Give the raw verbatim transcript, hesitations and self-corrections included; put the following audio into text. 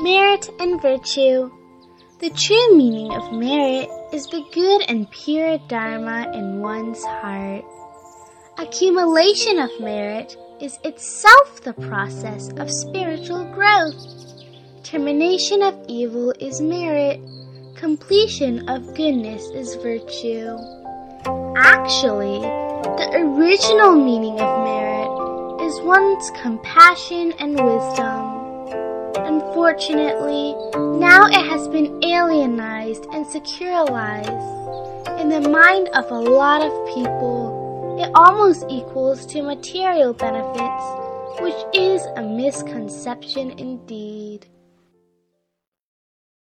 Merit and virtue. The true meaning of merit is the good and pure dharma in one's heart. Accumulation of merit is itself the process of spiritual growth. Termination of evil is merit. Completion of goodness is virtue. Actually, the original meaning of merit is one's compassion and wisdom. Unfortunately, now it has been alienized and secularized. In the mind of a lot of people, it almost equals to material benefits, which is a misconception indeed.